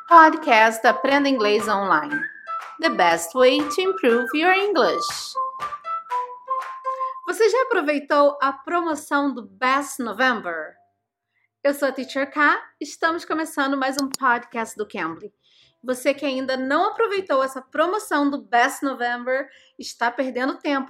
Podcast Aprenda Inglês Online. The best way to improve your English. Você já aproveitou a promoção do Best November? Eu sou a Teacher K, estamos começando mais um podcast do Cambly. Você que ainda não aproveitou essa promoção do Best November, está perdendo tempo,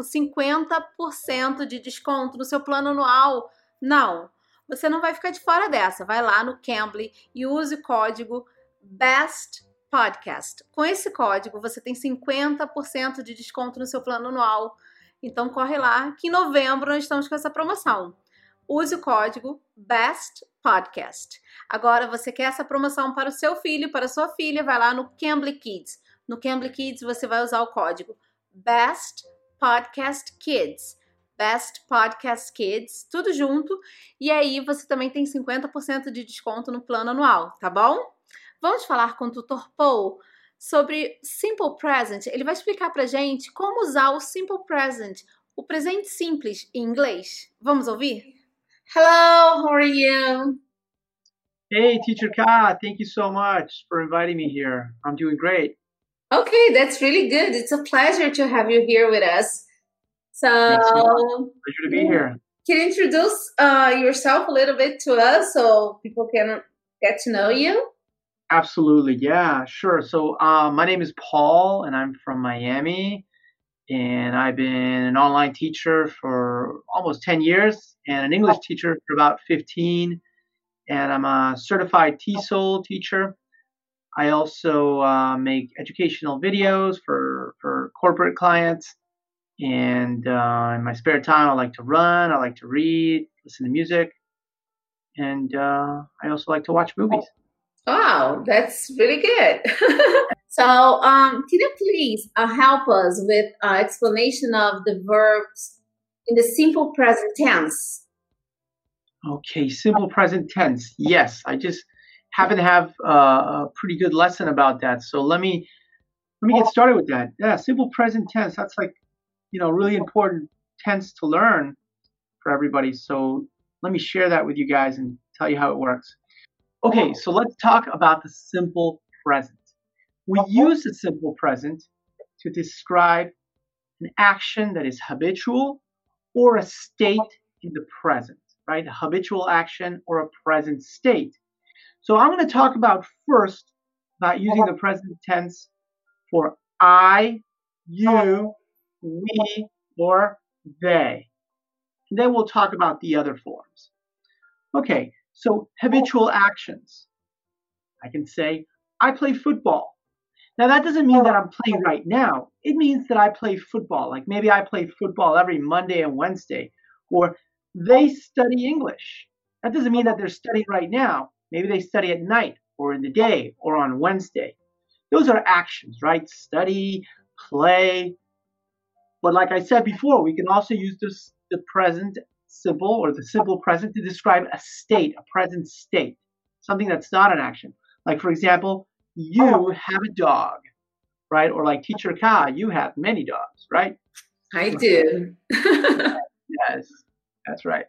50% de desconto no seu plano anual. Não, você não vai ficar de fora dessa. Vai lá no Cambly e use o código Best Podcast. Com esse código, você tem 50% de desconto no seu plano anual. Então, corre lá, que em novembro nós estamos com essa promoção. Use o código Best Podcast. Agora, você quer essa promoção para o seu filho, para a sua filha, vai lá no Cambly Kids. No Cambly Kids, você vai usar o código Best Podcast Kids. Best Podcast Kids, tudo junto. E aí, você também tem 50% de desconto no plano anual, tá bom? Vamos falar com o Tutor Paul sobre Simple Present. Ele vai explicar pra gente como usar o Simple Present, o presente simples em inglês. Vamos ouvir? Hello, how are you? Hey, Teacher Ka, thank you so much for inviting me here. I'm doing great. Okay, that's really good. It's a pleasure to have you here with us. So, Pleasure to be here. Can you introduce yourself a little bit to us so people can get to know you? Absolutely, yeah, sure. So my name is Paul, and I'm from Miami, and I've been an online teacher for almost 10 years and an English teacher for about 15, and I'm a certified TESOL teacher. I also make educational videos for corporate clients, and in my spare time, I like to run, I like to read, listen to music, and I also like to watch movies. Wow, that's really good. So, can you please help us with explanation of the verbs in the simple present tense? Okay, simple present tense. Yes, I just happen to have a pretty good lesson about that. So let me get started with that. Yeah, simple present tense. That's like, really important tense to learn for everybody. So let me share that with you guys and tell you how it works. Okay, so let's talk about the simple present. We use the simple present to describe an action that is habitual or a state in the present, right? A habitual action or a present state. So I'm going to talk about using the present tense for I, you, we, or they. And then we'll talk about the other forms. Okay, so habitual actions. I can say, I play football. Now, that doesn't mean that I'm playing right now. It means that I play football. Like maybe I play football every Monday and Wednesday. Or they study English. That doesn't mean that they're studying right now. Maybe they study at night or in the day or on Wednesday. Those are actions, right? Study, play. But like I said before, we can also use the present simple or the simple present to describe a state, a present state, something that's not an action. Like, for example, you have a dog, right? Or like Teacher Ka, you have many dogs, right? I do. Yes, that's right.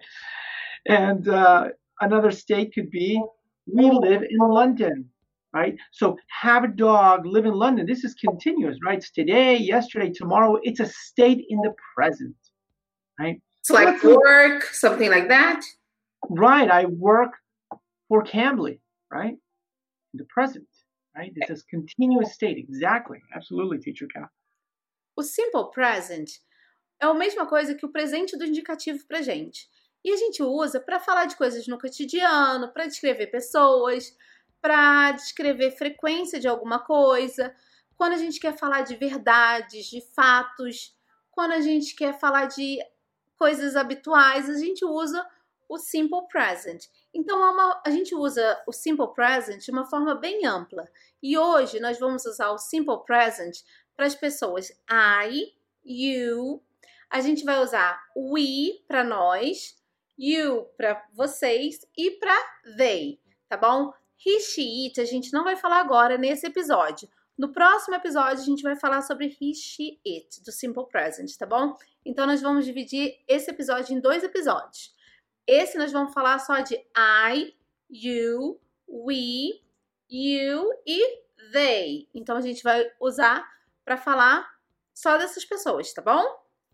And another state could be, we live in London, right? So have a dog, live in London. This is continuous, right? It's today, yesterday, tomorrow. It's a state in the present, right? So like work, something like that? Right. I work for Cambly, right? In the present, right? It's this continuous state. Exactly. Absolutely, Teacher Ka. O simple present é a mesma coisa que o presente do indicativo pra gente. E a gente usa para falar de coisas no cotidiano, para descrever pessoas, para descrever frequência de alguma coisa, quando a gente quer falar de verdades, de fatos, quando a gente quer falar de coisas habituais, a gente usa o simple present. Então, a gente usa o simple present de uma forma bem ampla. E hoje nós vamos usar o simple present para as pessoas I, you. A gente vai usar we para nós, you para vocês e para they, tá bom? He, she, it a gente não vai falar agora nesse episódio. No próximo episódio a gente vai falar sobre he, she, it, do simple present, tá bom? Então nós vamos dividir esse episódio em 2 episódios. Esse nós vamos falar só de I, you, we, you e they. Então, a gente vai usar para falar só dessas pessoas, tá bom?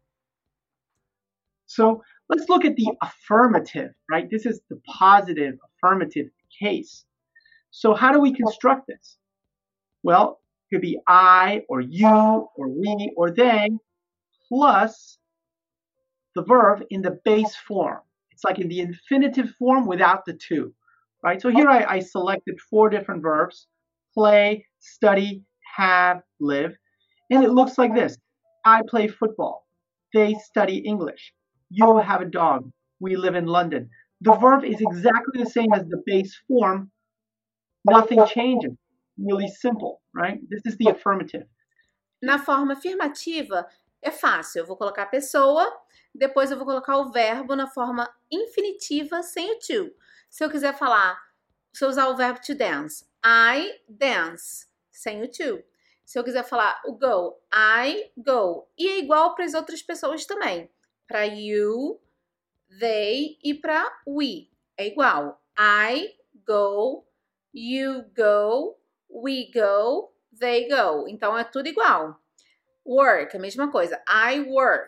So let's look at the affirmative, right? This is the positive affirmative case. So how do we construct this? Well, it could be I or you or we or they plus the verb in the base form. It's like in the infinitive form without the to, right? So here I selected 4 different verbs: play, study, have, live. And it looks like this. I play football. They study English. You have a dog. We live in London. The verb is exactly the same as the base form. Nothing changes. Really simple, right? This is the affirmative. Na forma afirmativa, é fácil. Eu vou colocar a pessoa, depois eu vou colocar o verbo na forma infinitiva sem o to. Se eu quiser falar, se eu usar o verbo to dance, I dance, sem o to. Se eu quiser falar o go, I go. E é igual para as outras pessoas também. Para you, they e para we. É igual. I go, you go, we go, they go. Então, é tudo igual. Work, a mesma coisa. I work.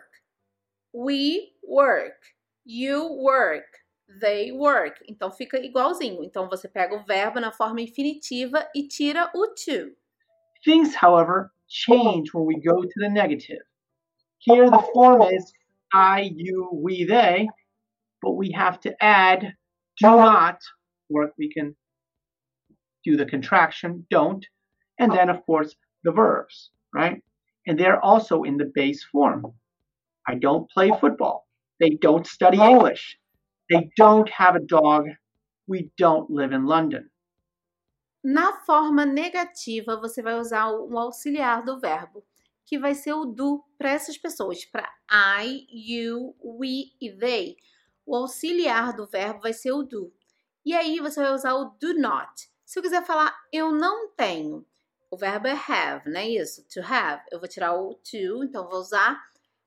We work. You work. They work. Então, fica igualzinho. Então, você pega o verbo na forma infinitiva e tira o to. Things, however, change when we go to the negative. Here the form is I, you, we, they, but we have to add do not, or we can do the contraction, don't, and then, of course, the verbs, right? And they're also in the base form. I don't play football. They don't study English. They don't have a dog. We don't live in London. Na forma negativa, você vai usar um auxiliar do verbo, que vai ser o do para essas pessoas, para I, you, we e they. O auxiliar do verbo vai ser o do. E aí você vai usar o do not. Se eu quiser falar eu não tenho, o verbo é have, não é isso? To have. Eu vou tirar o to, então vou usar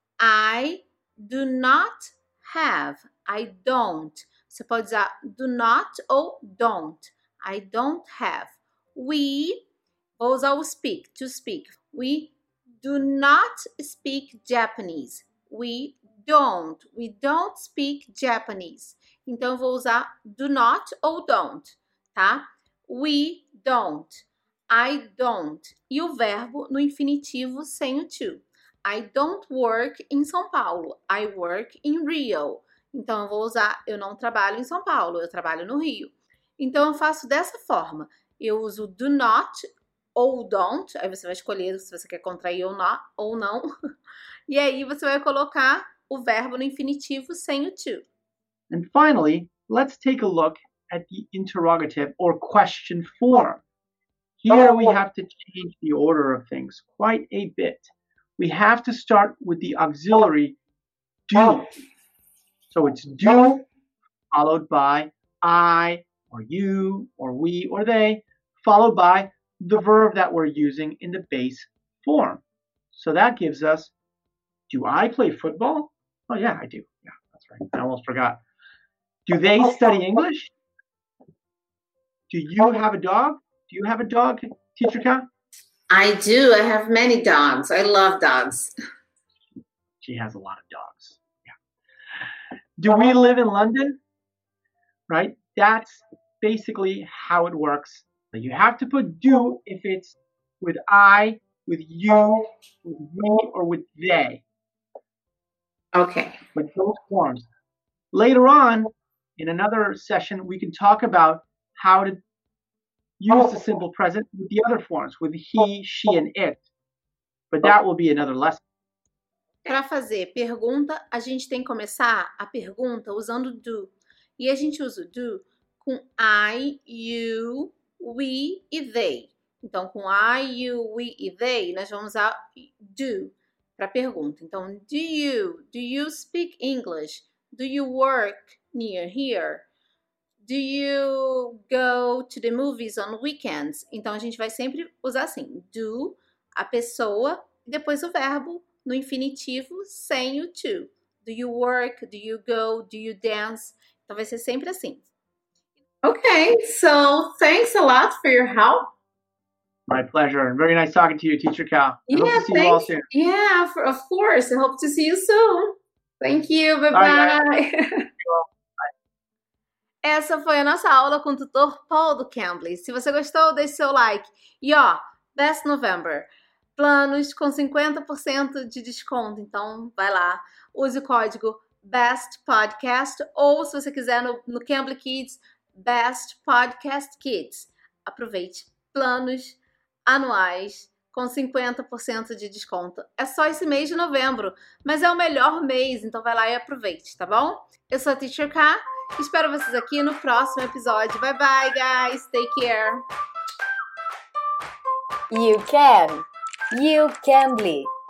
I do not have. I don't. Você pode usar do not ou don't. I don't have. We, vou usar o speak, to speak. We do not speak Japanese. We don't speak Japanese. Então, eu vou usar do not ou don't, tá? We don't. I don't. E o verbo no infinitivo sem o to. I don't work em São Paulo. I work in Rio. Então, eu vou usar, eu não trabalho em São Paulo, eu trabalho no Rio. Então, eu faço dessa forma. Eu uso do not ou don't. Aí você vai escolher se você quer contrair ou não. E aí, você vai colocar o verbo no infinitivo sem o to. And finally, let's take a look at the interrogative or question form. Here we have to change the order of things quite a bit. We have to start with the auxiliary do. So it's do followed by I or you or we or they, followed by the verb that we're using in the base form. So that gives us, do I play football? Oh yeah, I do. Yeah, that's right. I almost forgot. Do they study English? Do you have a dog? Do you have a dog, Teacher Ka? I do. I have many dogs. I love dogs. She has a lot of dogs. Yeah. Do we live in London? Right? That's basically how it works. You have to put do if it's with I, with you, with me, or with they. Okay. With those forms. Later on, in another session, we can talk about how to use the simple present with the other forms, with he, she, and it. But that will be another lesson. Para fazer pergunta, a gente tem que começar a pergunta usando do. E a gente usa o do com I, you, we e they. Então, com I, you, we e they, nós vamos usar do para pergunta. Então, do you speak English? Do you work near here? Do you go to the movies on weekends? Então, a gente vai sempre usar assim, do, a pessoa, e depois o verbo no infinitivo sem o to. Do you work? Do you go? Do you dance? Então, vai ser sempre assim. Okay, so thanks a lot for your help. My pleasure. And very nice talking to you, Teacher Cal. I hope to see you all soon. Yeah, of course. I hope to see you soon. Thank you. Bye-bye. Essa foi a nossa aula com o tutor Paul do Cambly. Se você gostou, deixe seu like. E ó, Best November. Planos com 50% de desconto. Então, vai lá. Use o código Best Podcast. Ou, se você quiser, no Cambly Kids, Best Podcast Kids. Aproveite. Planos anuais com 50% de desconto. É só esse mês de novembro, mas é o melhor mês, então vai lá e aproveite, tá bom? Eu sou a Teacher K, espero vocês aqui no próximo episódio. Bye bye, guys, take care. You can. You Cambly.